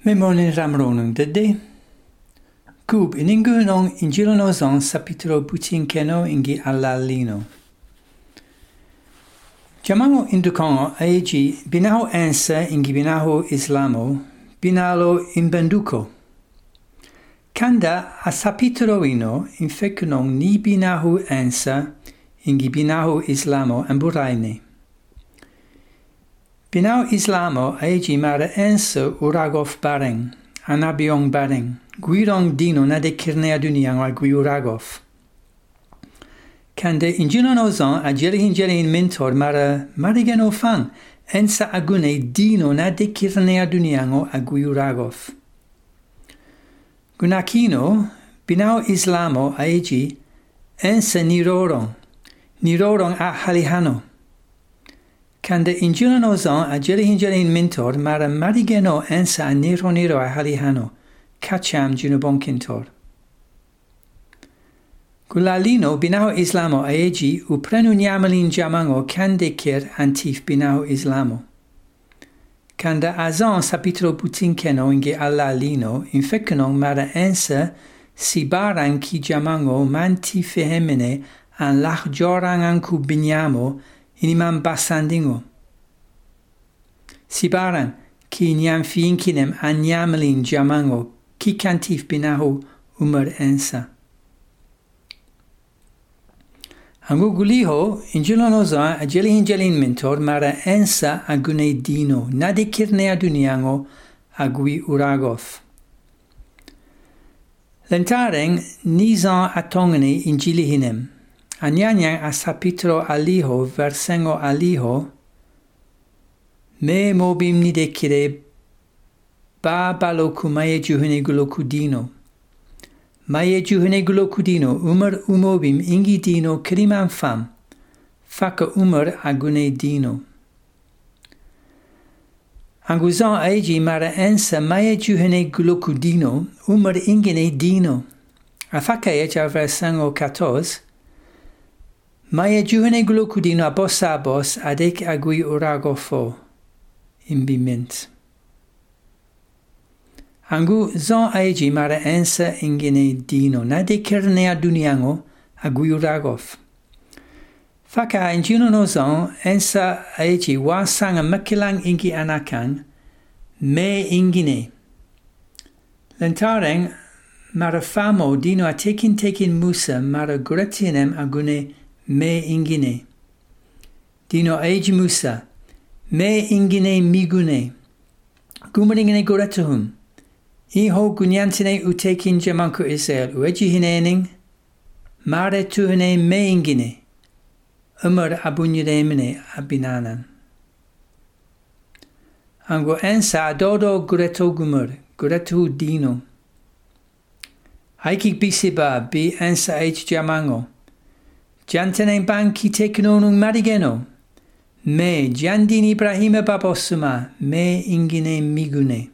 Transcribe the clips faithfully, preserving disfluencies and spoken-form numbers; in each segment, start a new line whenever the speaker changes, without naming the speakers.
Memonin ramronung dede. Kub iningunong injilonozon sapitro butinkeno ingi alalino. Jamango indukongo aegi binaho ansa ingi binaho islamo, binalo imbenduko. Kanda a sapitro ino infekunong ni binahu ansa ingi binahu islamo amburaine. Binau islamo aegi mara ansa uragof bareng, anabiong bareng, guirong dino nade kirnea duniang a guiragof. Kande injilonozon a jerihin jerihin mentor mara marigeno fang, ensa agune dino nade kirnea duniango a guiragof. Gunakino, binau islamo aegi, ensa nirorong, nirorong a halihano. Kande injilonozon a jerihin jerihin mentor mara marigeno ensa a niro niro a halihano, kacham junubonkintor. Gulalino binao islamo aegi uprenu nyamalin jamango kande kir antif binao islamo. Kanda azon sapitro butinkeno inge allalino infekenong mara ensa sibaran ki jamango manti fehemene an lach jorang anku binyamo inimam basandingo. Sibaran ki nyam fiinkinem an nyamalin jamango ki kantif binaho umar ensa. Angu guliho, injilonozon a jelihin jelin mentor mara ensa agune dino, nade kirnea duniango agui uragof. Lentareng nizan atongene injilihinem, anyanyang a sapitro aliho versengo aliho, me mobim nide kire ba baloku maye juhene guloku dino. Maye juhene guloku dino umar umobim ingi dino kriman fam, faka umar agune dino. Anguzan aegi mara ensa maye juhene guloku dino umar ingine dino. Afaka eja versango quatorze, maye juhene guloku dino abos abos adek agui uragofo, imbiment. Angu zon aegi mara ensa ingine dino, nade kirnea duniango aguyuragof. Faka injilonozon ensa aegi wasanga makilang ingi anakan, me ingine. Lentareng mara famo dino a tekin tekin musa mara gretinem agune me ingine. Dino aegi musa, me ingine migune. Gumaringine goretuhum. Iho gunyantine utekin jamanku Israel ueji hinening, mare tuhine meingine, umar abunyiremine abinanan. Ango ensa adodo gureto gumur, guretu dino. Haikik bisiba bi ensa eich jamango. Jantene banki teknonung marigeno. Me jandini Ibrahima babosuma, me ingine migune.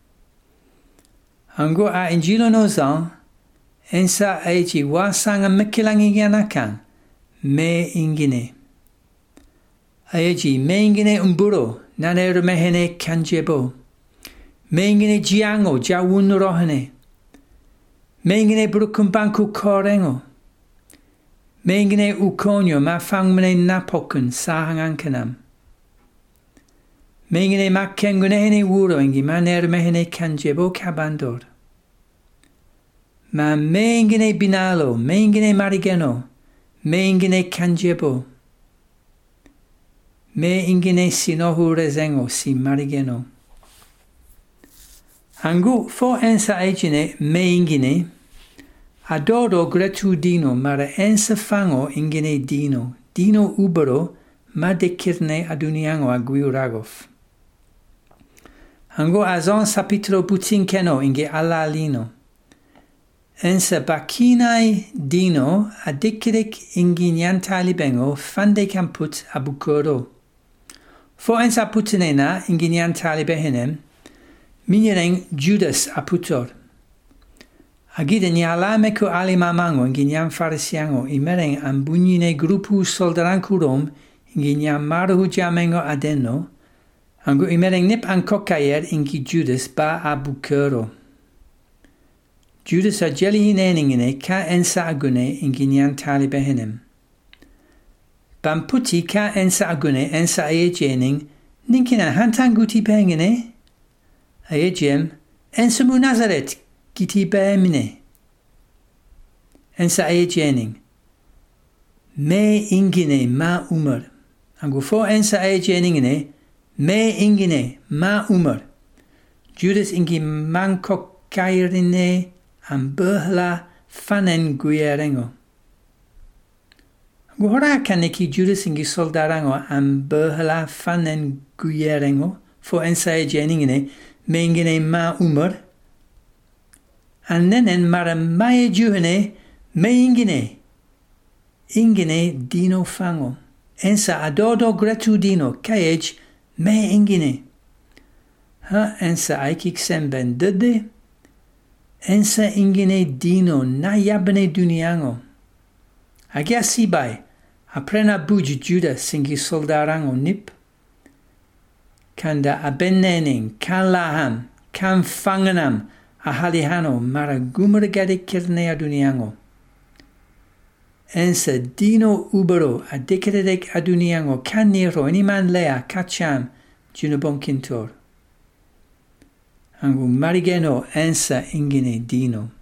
Ango a injilonozon, ensa aegi wasanga mekilangi yanakan, me ingine. Aegi me ingine umburo, nane rumehene kanjebo. Me ingine jiango, jawun rohene. Me ingine brukumbanku korengo. Me ingine ukonyo ma fangmene napokun sahangankanam. Me ingine makkengunehene wuro ingi mane rumehene kanjebo kabandor. Ma me ingine binalo, me ingine marigeno, me ingine kanjebo. Me ingine sinohu rezengo si marigeno. Angu fo ensa egine me ingine, adodo gretu dino mara ensa fango ingine dino, dino ubero ma de kirne aduniango aguiragof. Ango azon sapitro butinkeno inge alalino. Ensa bakinai dino adikirek ingi nyantali bengo fande kamput abukoro. Fo ensa putinena ingi nyantali behenem, minyereng Judas aputor. Agide nyalameku ali mamango ingi nyam farisiango imereng ambunyine grupu soldarankurom ingi nyam maruhu jamengo adeno, Angu imereng nip an kokayer ingi Judas ba a bukero. Judas a jelihineningine ka ensa agune ingi nyan talibehinem. Bamputi ka ensa agune ensa ayejening ninkina hantanguti pengine. Ayejem ensa mu Nazaret giti beemine. Ensa ayejening. Me ingine ma umar. Angu fo ensa ayejeningine me ingine ma umar. Judas ingi manko kairine amberhla fanen guyerengo. Guhora kaneki Judas ingi soldarango amberhla fanen guyerengo fo ensa ayejeningine me ingine ma umar. Annenen mara maye juhene me ingine. Ingine dino fango. Ensa adodo gratudino kayej me ingine. Ha ensa aikik semben dede. Ensa ingine dino na yabne duniango. Agia sibai. Aprena buj Juda singi soldarango nip. Kanda abenening kan laham kan fanganam ahalihano mara gumragade kirnea duniango. Ensa dino ubero a dekedek aduniango kan niro iniman lea kacham junabon kintor. Angu marigeno ensa ingine dino.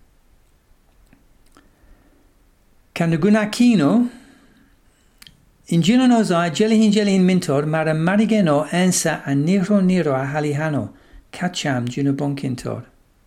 Kandagunakino injino nozo a jelihin jelihin mintor mara marigeno ensa a niro niro a halihano kacham junabon kintor.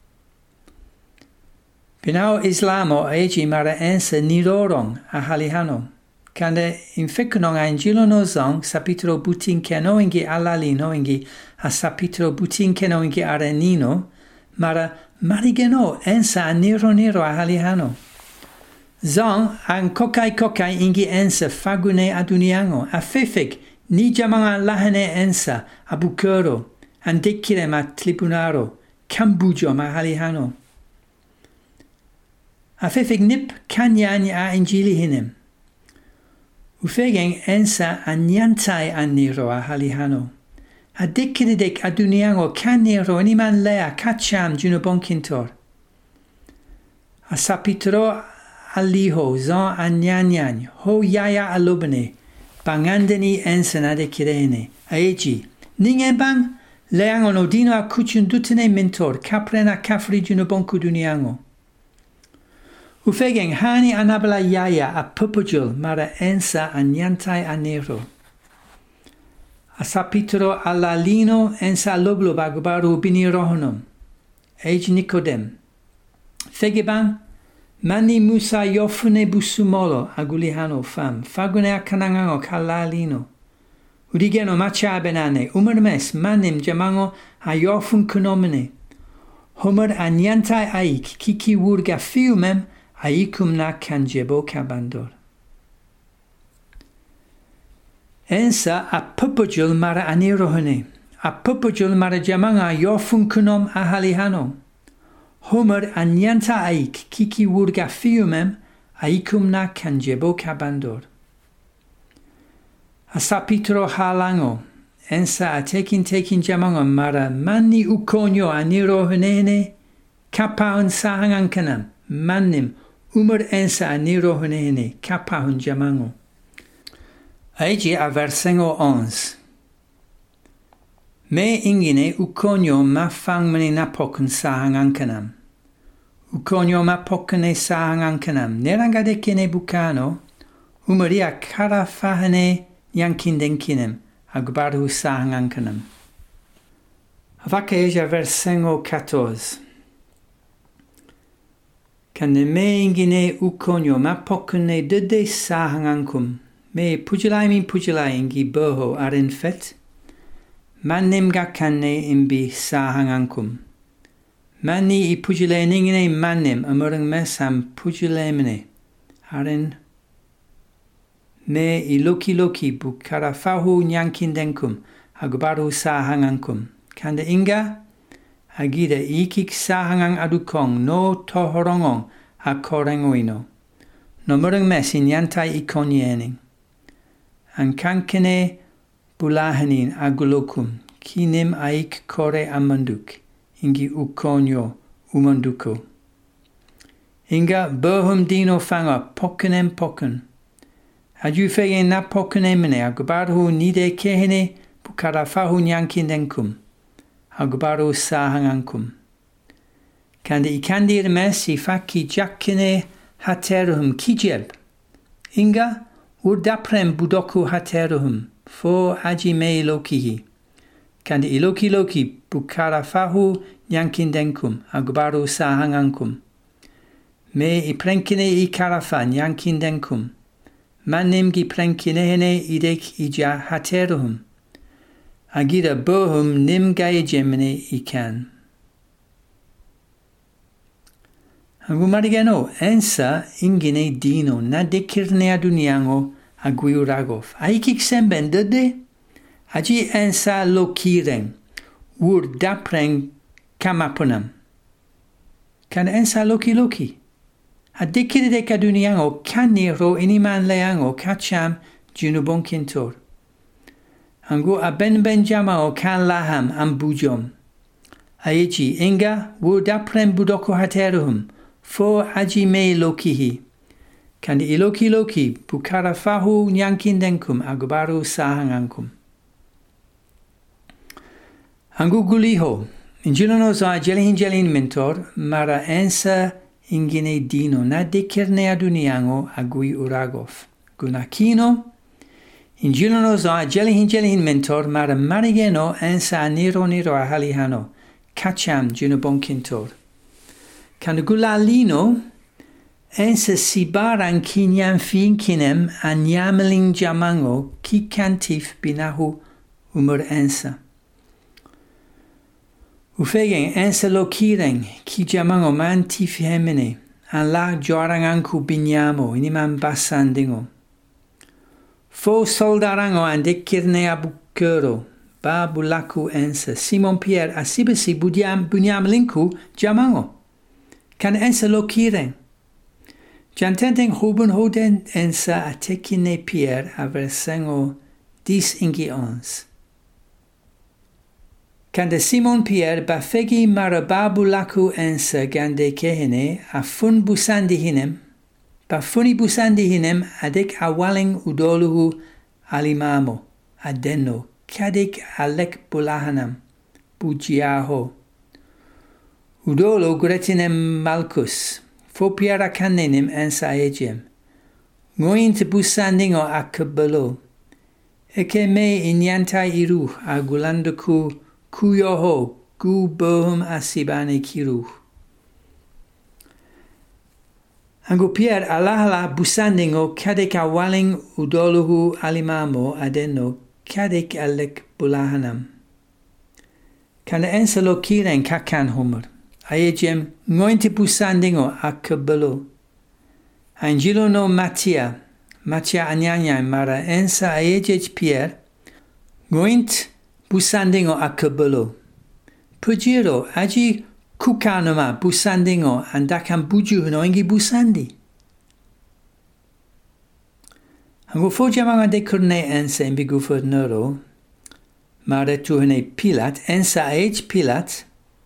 Pinao Islamo eji mara ensa nirorong a halihano. Kande infekunong a injilo nozong sapitro butin keno ingi alalino ingi a sapitro butin keno ingi arenino mara marigeno ensa a niro niro a halihano. Zong an kokai kokai ingi ensa fagune aduniango a fefek ni jamanga lahane ensa a bukero an dekire ma tribunaro kambujo ma halihano. Afefig nip kanyan a injili hinem. Ufegeng ensa a nyantai a niro a halihano. A dekidek a duniango kan niro animan lea kacham junabon kintor. A sapitro aliho zon a nyanyan ho yaya alubane bangandeni ensa na dekirene. Aeji. Ningen bang leango no dino a kuchun dutene mentor kaprena kafri junabon kuduniango. Ufegeng hani anabla yaya a pupujul mara ensa a nyantai a nero. A sapitro alalino ensa loblo bagubaru bini rohonum. Ej Nicodem. Fegeban mani musa yofune busumolo agulihano fam. Fagune a kanangango kalalino. Urigeno macha benane. Umermes manim jamango a yofun kunomene. Homer a nyantai aik kiki wurga fiumem aikum na kanjebo kabandor. Ensa a pupujul mara anirohane. A pupujul mara jamanga yofun kunom ahalihano. Homer anyanta aik kiki wurga fiumem aikum na kanjebo kabandor. A sapitro halango. Ensa a tekin tekin jamanga mara mani ukonyo anirohane. Kapaun sahangankanam. Manim. Umar ensa a nirohunene kapahun jamango. Aiji a versengo ons. Me ingine ukonyo ma fangmane napokun sahangankanam. Ukonyo ma pokane sahangankanam. Nerangade kene bukano. Umaria kara fahane yankindenkinem. Agbaru sahangankanam. Avaka eja versengo catorze. Kande me ingine ukonyo ma pokune dede sahangankum. Me pujilai min pujilai ingi boho aren fet. Manim gakane imbi sahangankum. Mani i pujile ningine manim amurang mesam pujile mene. Aren me i loki loki bukarafahu nyankindenkum. Agbaru sahangankum. Kande inga agida ikik sahangang adukong no tohorongong a korengoino. No murang mes inyantai ikonyening. An kankene bulahanin agulokum. ki nim aik kore amanduk, ingi ukonyo umanduko. Inga bohum dino fanga pokenem poken. Aju fegen na pokenemene agubaru nide kehene bukarafahu nyankindenkum. Agubaru sahangankum. Kande ikandir mes ifaki jakkine hateruhum kijeb. Inga urdaprem budoku hateruhum fo ajime lokihi. Kande iloki loki bukarafahu nyankindenkum. Agubaru sahangankum. Me iprenkine i karafa nyankindenkum. Manim gi prenkinehene idek ija hateruhum. Agira bohum nim gaejemene ikan. Agumarigano ensa ingine dino na dekirne aduniango aguiragov. Aikik semben dede? Aji ensa lokiren. Ur dapreng kamapunam. Kan ensa loki loki. Adekirde kaduniango kaniro iniman leango kacham junubon kintor. Angu aben benjama o kan laham ambujom. Aeji inga wudaprem budoko hateruhum fo ajime lokihi. Kandi iloki loki bukarafahu nyankindenkum agubaru sahangankum. Angu guliho. Injilono za jelihin jelin mentor mara ensa ingine dino na dekirne aduniango agui uragov. Gunakino, injilono za jelihin jelihin mentor mara marigeno ensa niro niro ahalihano, kacham junubon kintor. Kanugulalino, ensa sibaran kinyan finkinem anyameling jamango kikantif binahu umur ensa. Ufegen ensa lokiren ki jamango man tifi hemene an la joaranganku binyamo iniman basandingo. Fo soldarango an dekirne abukero ba bulaku ensa Simon Pierre asibisi bunyam bunyam linku jamango. Kan ensa lokiren. Jantenten huben hoden ensa atekine Pierre aversengo dis ingi ons. Kande Simon Pierre bafegi marababu laku ensa gande kehene afun busandi hinem, bafuni busandi hinem adek awaling udoluhu alimamo, adeno, kadek alek bulahanam, bujiaho. Udolo gretinem malkus, fo Pierre kanenim ensa ejem, ngoint busandingo akabalo, eke me inyanta iru agulanduku kuyoho gu bohum asibane kiru. Angu Pierre alahala busandingo kadek awaling udoluhu alimamo adeno kadek alek bulahanam. Kana ensalo kiren kakan humor. Ayejem ngointe busandingo akabalo. Angelo no Matia. Matia anyanya mara ensa ayejej Pierre. Ngoint busandingo akabalo. Pujiro aji kukanoma busandingo andakam buju no ingi busandi. Angu fojamanga de kurne ensa imbi guvernoro. Mare tuhene Pilat ensa age Pilat.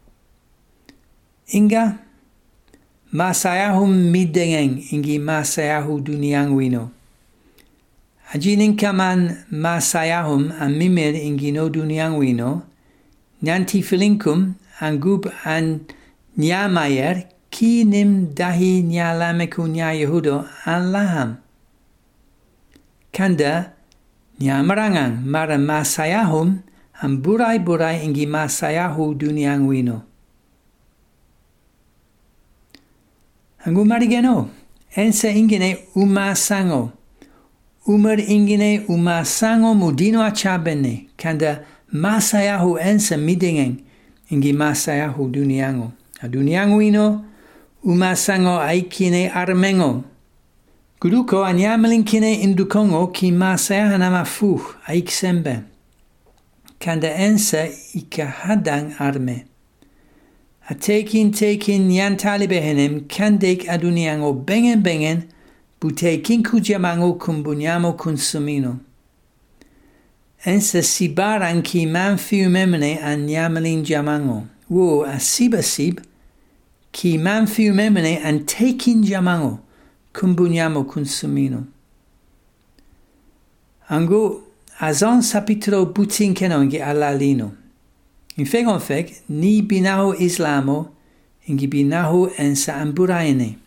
Inga masayahum midengeng ingi masayahu duniangwino. Ajinin kaman masayahum an mimir ingino duniangwino, nyanti filinkum angub an nyamayer ki nim dahi nyalameku nya Yehudo an laham. Kanda nyamarangang mara masayahum an burai burai ingi masayahu duniangwino. Angu marigeno, ensa ingine umasango. Umar ingine umasango mudino achabene, kanda masayahu ensa midingen ingi masayahu duniango. A duniango ino, umasango aikine armengo. Guduko anyamelinkine indukongo ki masayahanama fuh aiksembe. Kanda ensa ikahadang arme. A tekin tekin nyantali behenem kandek aduniango bengen bengen butekin kujamango kumbunyamo consumino. ensa sibaran ki man fiumemene an yamelin jamango. Wo a sibasib ki man fiumemene an takin jamango kumbunyamo consumino. Ango azon sapitro butinkeno ingi alalino. In fegon feg ni binaho islamo ingi binaho ensa amburaine.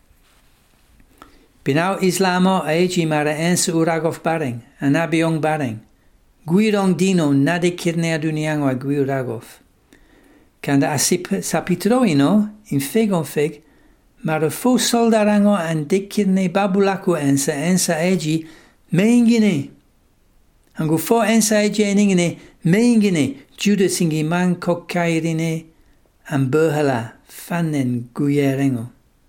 Binaho islamo aeji mara ensa uragov bareng, anabiong bareng. Guirong dino nade kirnea duniango a guiragov. Kanda asip sapitro ino, in fegon feg, mara fo soldarango an dekirne babulako ensa ensa aeji meingine. Angu fo ensa aeji eningine meingine Judas ingi man kokkairine an berhala fannen guyerengo.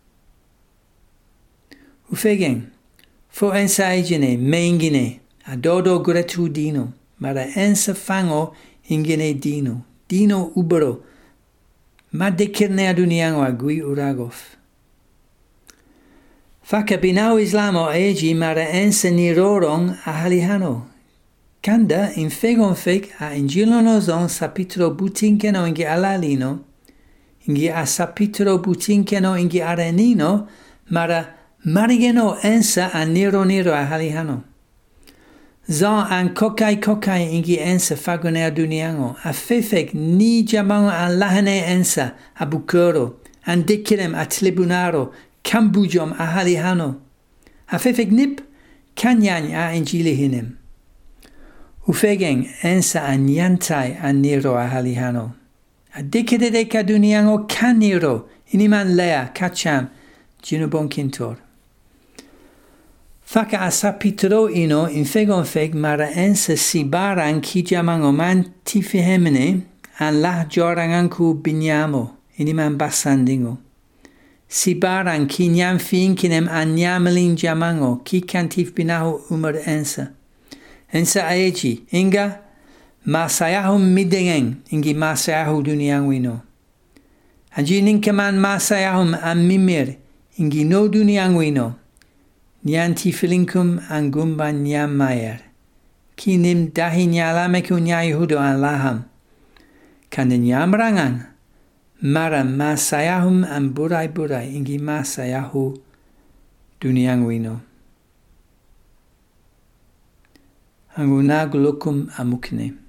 Ufegen, fo ensa aegine meingine a dodo gretu dino, mara ensa fango ingine dino, dino ubero, ma dekirne aduniango a gui uragov. Faka binao islamo aegi mara ensa nirorong a halihano. Kanda in fegon feg a ingilono zon sapitro butinkeno ingi alalino, ingi a sapitro butinkeno ingi arenino, mara marigeno ensa a niro niro a halihano. Zon an kokai kokai ingi ensa fagone a duniango, a fefeg ni jamango an lahane ensa a bukero, an dekirem a tlibunaro, kambujom a halihano. A fefeg nip kanyany a injili hinem. Ufegen ensa a nyantai a niro a halihano. A dekededeka duniango kan niro, iniman lea, kacham, jinubon kintor. Faka a sapitro ino in fegon feg mara ensa sibaran ki jamango man tifihemene an lah joranganku binyamo, iniman basandingo. Sibaran ki nyam fiinkinem an nyamelin jamango, ki kantif binaho umar ensa. Ensa aeji, inga masayahum midengeng, ingi masayahu duniangwino. Anji ninkaman masayahum an mimir, ingi no duniangwino. Nyanti filinkum an gumba nyam mayer. Kinim dahi nyalameku nyayihudo an laham. Kanda nyam rangan. Mara masayahum an burai burai, ingi masayahu duniangwino. Anguna gulukum amukne.